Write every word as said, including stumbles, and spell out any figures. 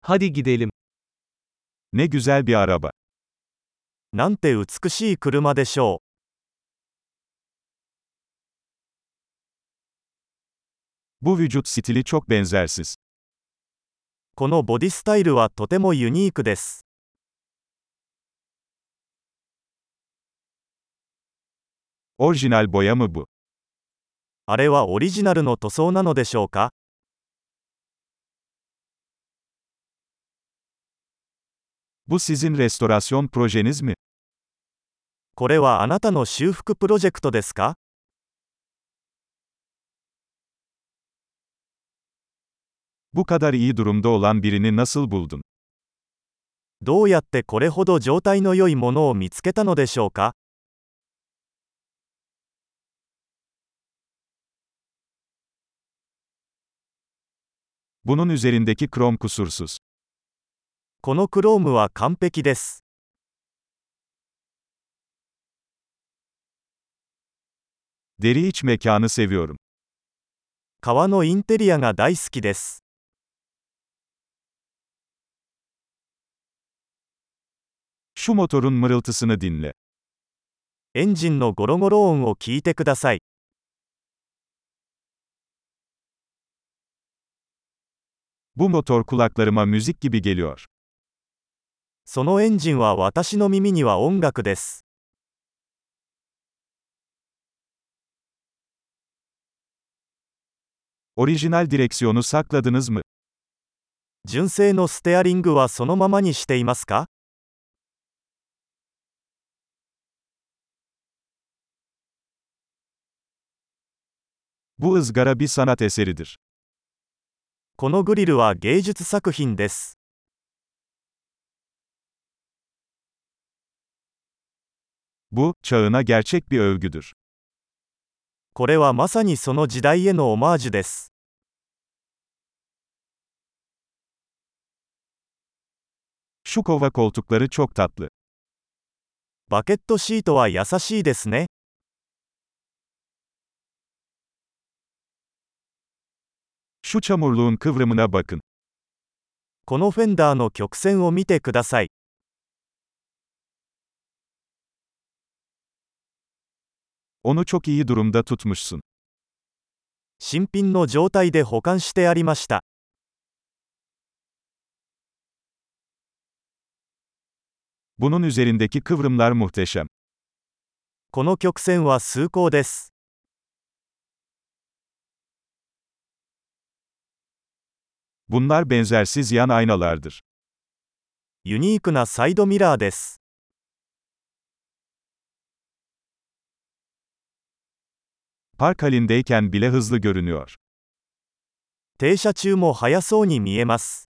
Hadi gidelim. Ne güzel bir araba. なんて美しい車でしょう。 Bu vücut stili çok benzersiz. このボディスタイルはとてもユニークです。 Orijinal boya mı bu? あれはオリジナルの塗装なのでしょうか？ Bu sizin restorasyon projeniz mi? これはあなたの修復プロジェクトですか？ Bu kadar iyi durumda olan birini nasıl buldun? どうやってこれほど状態の良いものを見つけたのでしょうか？ Bunun üzerindeki krom kusursuz. このクロームは完璧です。 Deri iç mekanı seviyorum. 革のインテリアが大好きです。 Şu motorun mırıltısını dinle. エンジンのゴロゴロ音を聞いてください。 Bu motor kulaklarıma müzik gibi geliyor. そのエンジンは私の耳には音楽です。 Orijinal direksiyonu sakladınız mı? 純正のステアリングはそのままにしていますか？ Bu ızgara bir sanat eseridir. このグリルは芸術作品です。 Bu, çağına gerçek bir övgüdür. これはまさにその時代へのオマージュです。 Şu kova koltukları çok tatlı. バケットシートは優しいですね。 Şu çamurluğun kıvrımına bakın. このフェンダーの曲線を見てください。 Onu çok iyi durumda tutmuşsun. 新品の状態で保管してありました。 Bunun üzerindeki kıvrımlar muhteşem. この曲線は崇高です。 Bunlar benzersiz yan aynalardır. ユニークなサイドミラーです。 Park halindeyken bile hızlı görünüyor. 停車中も速そうに見えます。